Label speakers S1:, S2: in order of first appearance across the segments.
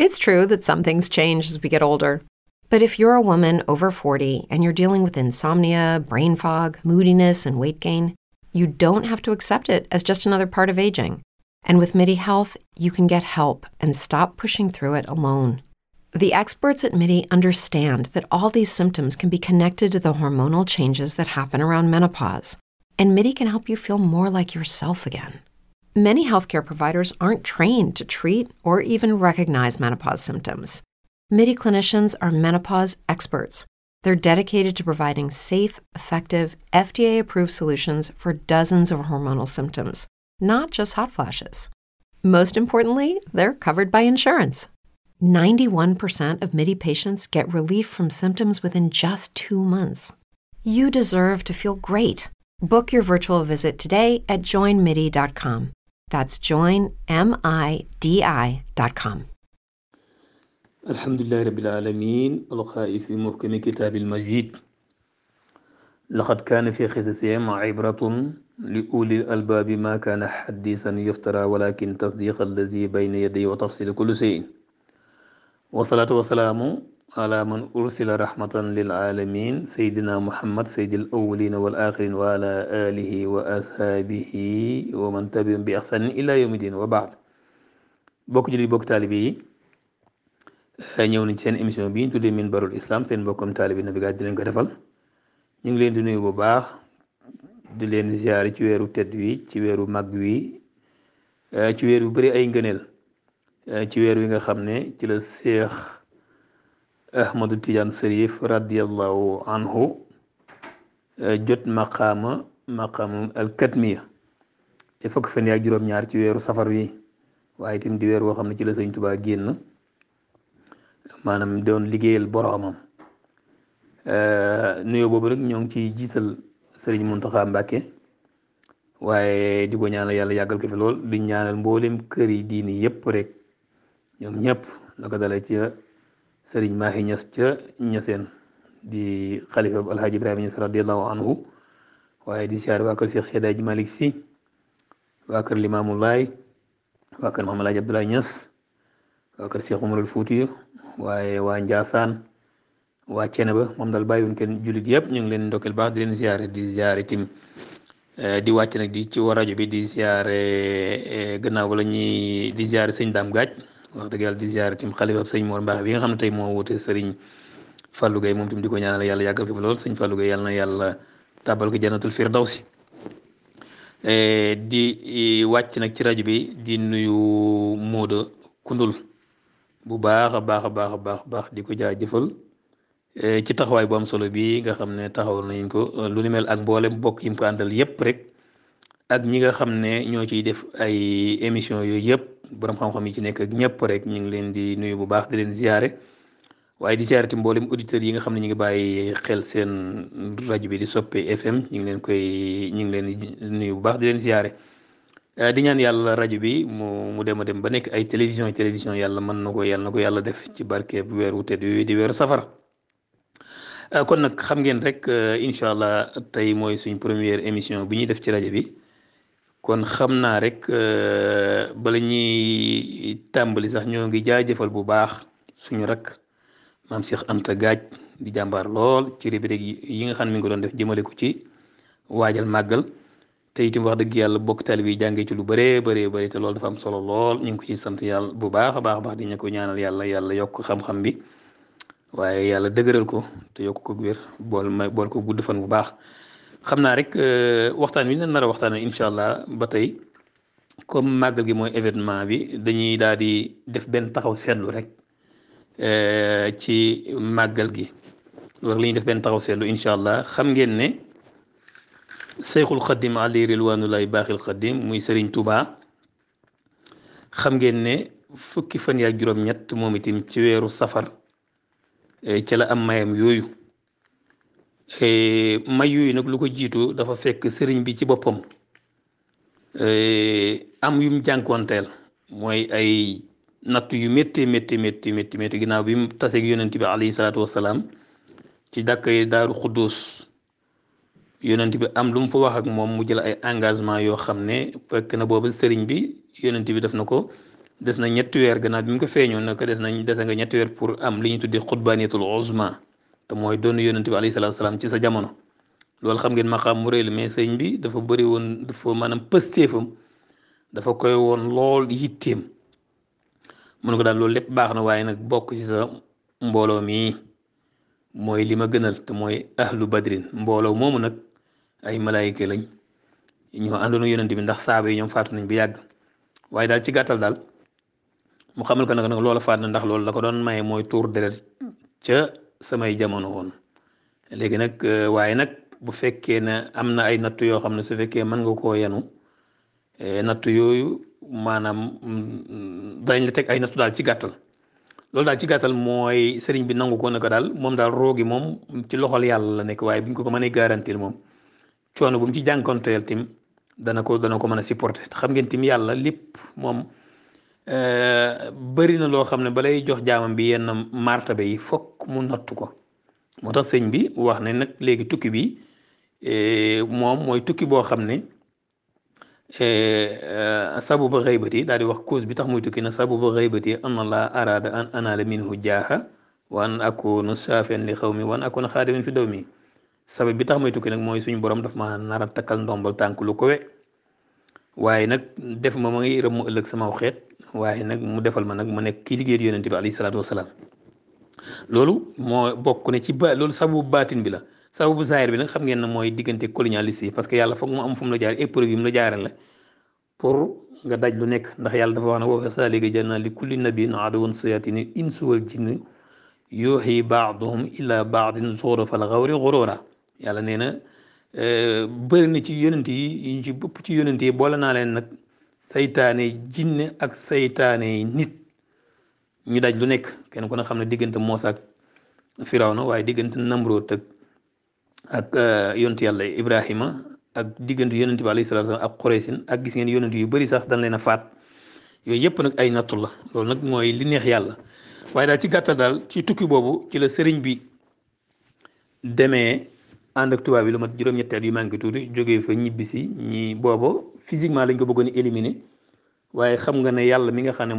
S1: It's true that some things change as we get older. But if you're a woman over 40 and you're dealing with insomnia, brain fog, moodiness, and weight gain, you don't have to accept it as just another part of aging. And with MIDI Health, you can get help and stop pushing through it alone. The experts at MIDI understand that all these symptoms can be connected to the hormonal changes that happen around menopause, and MIDI can help you feel more like yourself again. Many healthcare providers aren't trained to treat or even recognize menopause symptoms. MIDI clinicians are menopause experts. They're dedicated to providing safe, effective, FDA-approved solutions for dozens of hormonal symptoms, not just hot flashes. Most importantly, they're covered by insurance. 91% of MIDI patients get relief from symptoms within just 2 months. You deserve to feel great. Book your virtual visit today at joinmidi.com. That's joinmidi.com.
S2: الحمد لله رب العالمين القائل في محكم كتاب المجيد لقد كان في قصصهم عبرة لأولي الألباب ما كان حديثا يفترى ولكن تصديق الذي بين يديه وتفصيل كل شيء والصلاة والسلام على من أرسل رحمة للعالمين سيدنا محمد سيد الأولين والآخرين وعلى آله وأصحابه ومن تبعهم بإحسان إلى يوم الدين وبعد بوك جولي بوك طالبي ñëw nañ seen émission bi ñu tuddee Minbarul Islam seen mbokkum taalibi Nabi Gaye di leen ko defal ñu ngi leen di nuyu bu baax di leen ziar ci weeru tedd wi ci weeru mag wi ci weer yu bëri ay ngëneel ci weer wi nga xam ne ci la Cheikh Ahmadou Tidiane Chérif radiyallahu anhu jot maqaama al katmiya ci fukk fan ak juróom-ñaar ci weeru safar wi waaye itam di weer woo xam ne ci la Sëñ Tuubaa génn maanaam doon liggéeyal boroomam nuyoo boobu rek ñoo ngi ciy jiital Sëriñ Muntaxa Mbàkke waaye di ko ñaanal yàlla yàggal ko fi lool di ñaanal mboolem kër yi diini yépp rek ñoom ñëpp la ko dalee ci Sëriñ Maahi Ñas ca Ñaseen di xalifa bu Alhaji Ibrahima Ñas radiyallahu anhu waaye di siyaare waa kër Cheikh Seydi Malick Sy waa kër Limaamu Laay waa kër Maam Alaaji Abdoulaye Ñas waa kër Cheikh Umarul Fuutiyu waaye waa Njaasaan waa Ceneba moom daal bàyyiwuñ kenn jullit yëpp ñu ngi leen ndokkeel baax di leen ziare tim di wàcc nag di ci war rajo bi di ziare gannaaw ba la ñuy di ziare sëñ Daam Gaaj wax dëgg yàlla di ziare tim xalifa sëñ Mor Mbaax bi nga xam ne tey moo wute sëriñ Fallou Gueye moom tim di ko ñaanal yàlla yàggal ko fi lool sëñ Fallou Gueye yàlla na yàlla tàbbal ko jannatul firdawsi di wàcc nag ci rajo bi di nuyu Mooda Kundul bu baax a baax di ko jaajëfal ci taxawaay bu am solo bi nga xam ne taxawal nañ ko lu ni mel ak mboolem bokk yi mu ko àndal yépp rek ak ñi nga xam ne ñoo ciy def ay émission yooyu yëpp borom xam-xam yi ci nekk ak ñëpp rek ñu ngi leen di nuyu bu baax di leen ziare waaye di ziare ti mboolem auditeurs yi nga xam ne ñu ngi bàyyi xel seen rajo bi di Soppe FM ñu ngi leen di nuyu bu baax di leen ziare. di ñaan yàlla rajo bi mu dem a dem ba nekk ay télévision yàlla mën na ko yàlla def ci barke bu weeru tedd wi di weeru safar kon nag xam ngeen rek incha allah tey mooy suñ première émission bi ñuy def ci rajo bi kon xam naa rek bala ñuy tàmbali sax ñoo ngi jaajëfal bu baax suñu rak maam Cheikh Anta Gaaj di jàmbaar lool ci rubrique yi nga xam ne mi ngi ko doon def jëmale ko ci waajal màggal te itam wax dëgg yàlla bokk taalibe yi jàngee ci lu bëree te loolu dafa am solo lool ñu ngi ko ci sant yàlla bu baax a baax di ñu ko ñaanal yàlla yokk xam-xam bi waaye yàlla dëgëral ko te yokk ko wér bool ko gudd fan bu baax xam naa rek waxtaan wi ñu nar a waxtaan incha allah ba tey comme màggal gi mooy événement bi dañuy daal di def benn taxaw seetlu rek ci màggal gi loolu la ñuy def benn taxaw seetlu incha allah xam ngeen ne Seyxul Xadim ali rilwaanulaay baaxil Xadim muy Serigne Touba xam ngeen ne fukki fan yaa juróom-ñett moom itam ci weeru safar ci la am mayam yooyu may yooyu nag lu ko jiitu dafa fekk sëriñ bi ci boppam am yum jànkoonteel mooy ay natt yu métti ginnaaw bi mu taseeg yonent bi alayhi salaatu wassalaam ci dàkkay Daaru Xuddus yonent bi am lu mu fa wax ak moom mu jël ay engagement yoo xam ne fekk na booba sëriñ bi yonent bi def na ko des na ñetti weer gannaaw bi mu ko feeñoon nag dese nga ñetti weer pour am li ñu tuddee xutbaaniyatul uzma te mooy doon yonent bi alayhi salaatu salaam ci sa jamono. loolu xam ngeen maqaam mu rëy la mais sëñ bi dafa bëri woon dafa maanaam pëstéefam dafa koy woon lool yitteem mun ko daal loolu lépp baax na waaye nag bokk ci sa mbooloo mi mooy li ma gënal te mooy ahlu badrin mbooloo moomu nag ay malaayika lañ ñoo àndoon yonent bi ndax saaba yi ñoom faatu nañ bu yàgg waaye daal ci gàttal daal mu xamal ko nag loola faat na ndax loolu la ko doon maye mooy tuur deret ca samay jamono woon léegi nag waaye nag bu fekkee ne am na ay nattu yoo xam ne su fekkee mën nga koo yenu nattu yooyu maanaam dañ la teg ay nattu daal ci gàttal loolu daal ci gàttal mooy sëriñ bi nangu ko ne ko daal moom daal roogi moom ci loxol yàlla la nekk waaye bu ñu ko mënee garantir moom coono bu mu ci jànkonteel tim dana ko mën a supporter te xam ngeen tim yàlla lépp moom bëri na loo xam ne balay jox jaamam bi yenn martaba yi fokk mu nattu ko moo tax sëñ bi wax ne nag léegi tukki bi moom mooy tukki boo xam ne sababu xaybati daal di wax cause bi tax muy tukki na sababu xaybati an allah arada an anaala minhu jaaha wa an akuna saafian li xaw mi wa an akuna xaadimin fi daw mi sabab bi tax muy tukki nag mooy suñu borom daf ma nar a takkal ndombal tànk lu kowe waaye nag def ma ngi rëm mu ëllëg sama xeet waaye nag mu defal ma nag ma nekk kii liggéey yonent bi alayhi salaatu wasalaam loolu moo bokk ne ci loolu sababu baatin bi la sababu zahir bi nag xam ngeen ne mooy diggante colonialiste yi parce que yàlla foog mu am fu mu la jaar épreuve yi mu la jaarale la pour nga daj lu nekk ndax yàlla dafa wax ne wa kazaalika ja'alnaa li kulli nabiyyin aduwwan shayaatiinil insi wal jinni yuuhii ba'duhum ilaa ba'din zuxrufal qawli ghuruuraa yàlla nee na bëri na ci yonent yi ñu ci bëpp ci yonent yi boole naa leen nag saytaane jinne ak saytaane nit ñu daj lu nekk kenn ku ne xam ne diggante Muusaa ak Firawna waaye diggante Namrood ak yonent yàlla Ibrahima ak diggante yonent bi alayhi salaatu ak Quraysin ak gis ngeen yonent yu bëri sax dañ leen a faat yooyu yëpp nag ay nattu la loolu nag mooy li neex yàlla waaye daal ci gàttal daal ci tukki boobu ci la sëriñ bi demee ànd ak tubaab bi lu mat juróom-ñetti at yu manqué tuuti jógee fa ñibbisi ñi boobu physiquement lañ ko bëggoon a éliminer waaye xam nga ne yàlla mi nga xam ne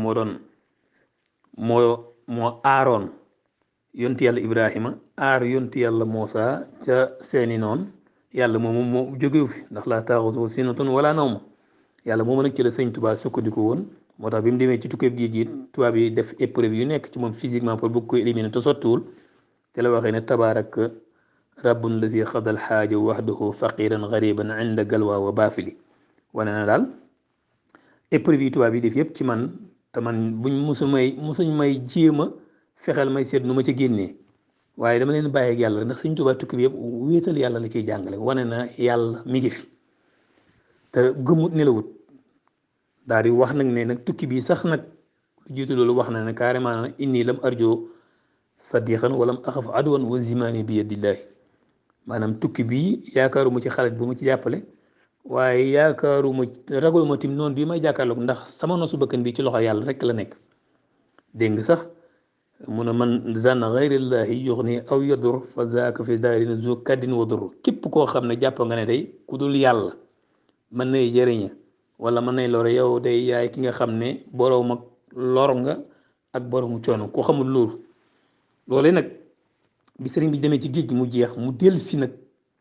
S2: moo aaroon yonti yàlla Ibrahima aar yonti yàlla Muusaa ca seeni noon yàlla moomu moo jógewu fi ndax laa taaxuzuhu sinatun wala nawm yàlla moomu nag ci la sëñ Tuubaa sukkandiku woon moo tax bi mu demee ci tukkeeb géej gi tubaab yi def épreuve yu nekk ci moom physiquement pour bëgg ko éliminer te sottiwul te la waxee ne tabaaraka rabbun lazi xadal xaaja waxdahu faqiran gariban inda galwa wa baafili wane na daal épreuve yi tubaab yi def yëpp ci man te man musuñ may jéem a fexeel may seet nu ma ca génnee waaye dama leen bàyyi ak yàlla ndax Sëñ Tuubaa tukki bi yëpp wéetal yàlla la ciy jàngale wane na yàlla mi ngi fi te gëmut nelawut daal di wax nag ne nag tukki bi sax nag lu jiitu loolu wax na ne carrément na inni lam arjo sadiqan walam axaf aduwan wa zimaani bi yadillahi maanaam tukki bi yaakaaruma ci xarit bu ma ci jàppale waaye yaakaaruma ragaluma tim noonu bii may jàkkaarloog ndax sama nosu bëkkan bi ci loxo yàlla rek la nekk dégg nga sax mu ne man zanna gayrillahi yuxni aw yadur fa zaaka fi daarin zu kaddin wa dur képp koo xam ne jàpp nga ne day ku dul yàlla mën nay jëriña wala mën nay lore yow day yaay ki nga xam ne boroom ak lor nga ak boroomu coono ku xamul loolu loolee nag bi sëriñ bi demee ci géej gi mu jeex mu dellu si nag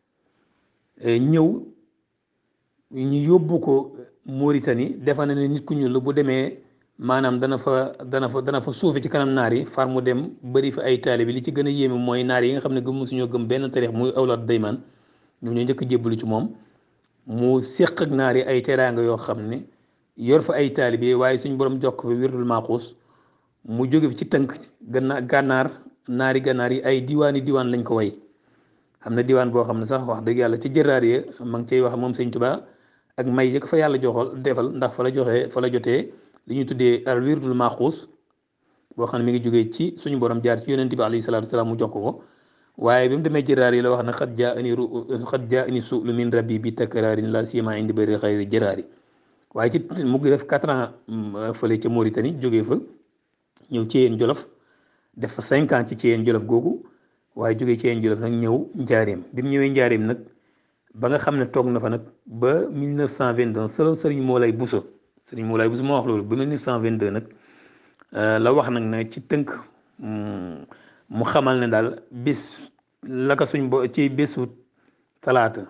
S2: ñëw ñu yóbbu ko Mauritanie defa na ne nit ku ñuul la bu demee maanaam dana fa suufe ci kanam naar yi far mu dem bëri fa ay taalibe bi li ci gën a yéeme mooy naar yi nga xam ne gëm musuñoo gëm benn tarix muy awlaat daymaan ñoom ñoo njëkk jébbalu ci moom mu séq ak naar yi ay teraanga yoo xam ne yor fa ay taalibe waaye suñ borom jox ko fa wirdul maaxuus mu jóge fi ci tënk gànnaar naari gànnaar yi ay diwaan lañ ko way xam na diwaan boo xam ne sax wax dëgg yàlla ci jëraar yi ma ngi cay wax moom sëñ Tuubaa ak may yëg fa yàlla joxol defal ndax fa la jotee li ñuy tuddee al wirdul maaxuus boo xam ne mi ngi jógee ci suñu borom jaar ci yonent bi alayhi salaatu wasalaam mu jox ko waaye bi mu demee jëraar yi la wax ne xat jaa ani suulu min rabbi bi takraarin la siyama indi bëri xayri jëraar yi waaye ci mu ngi def 4 ans fële ca Mauritanie jógee fa ñëw ci yéen Jolof def fa 5 ans ci yéen Jolof googu waaye jógee ci yéen Jolof nag ñëw njaareem bi mu ñëwee njaareem nag ba nga xam ne toog na fa nag ba 1922 sëriñ Moulay Bousso Sëriñ Moulay bu ma wax loolu ba 1922 nag la wax nag ne ci tënk mu xamal ne daal bis la ko ci bésu talaata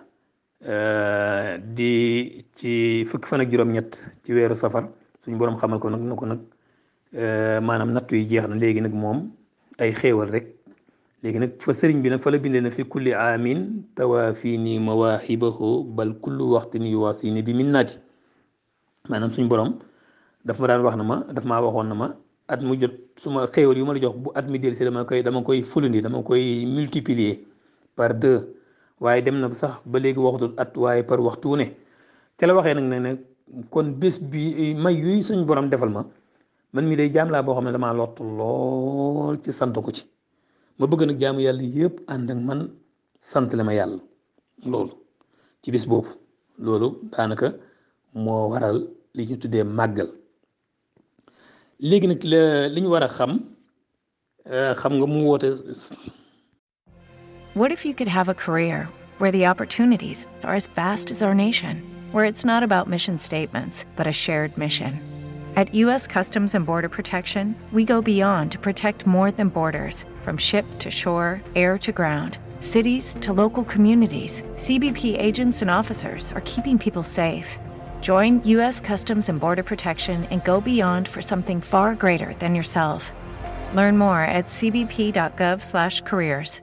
S2: di ci fukki fan ak juróom-ñett ci weeru safar suñ boroom xamal ko nag na ko nag maanaam nattu yi jeex na léegi nag moom ay xéewal rek léegi nag fa sëriñ bi nag fa la bindee na fi kulli aamin tawaafini mawaahibahu bal kullu waxtin yuwaasini bi minnaati maanaam suñ borom daf ma daan wax na ma daf maa waxoon na ma at mu jot suma xéewal yu ma la jox bu at mi del si dama koy fulandi dama koy multiplier par 2 waaye dem na sax ba léegi waxatul at waaye par waxtu ne ca la waxee nag ne kon bés bi may yuy suñ borom defal ma man mi day jaam laa boo xam ne damaa lott lool ci sant ko ci ma bëgg nag jaamu yàlla yëpp ànd ak man sant la ma yàlla loolu ci bés boobu loolu daanaka moo waral li ñu tuddee màggal léegi nag li ñu war a xam nga mu woote.
S3: What if you could have a career where the opportunities are as vast as our nation, where it's not about mission statements, but a shared mission? At U.S. Customs and Border Protection, we go beyond to protect more than borders. From ship to shore, air to ground, cities to local communities, CBP agents and officers are keeping people safe. Join U.S. Customs and Border Protection and go beyond for something far greater than yourself. Learn more at cbp.gov/careers.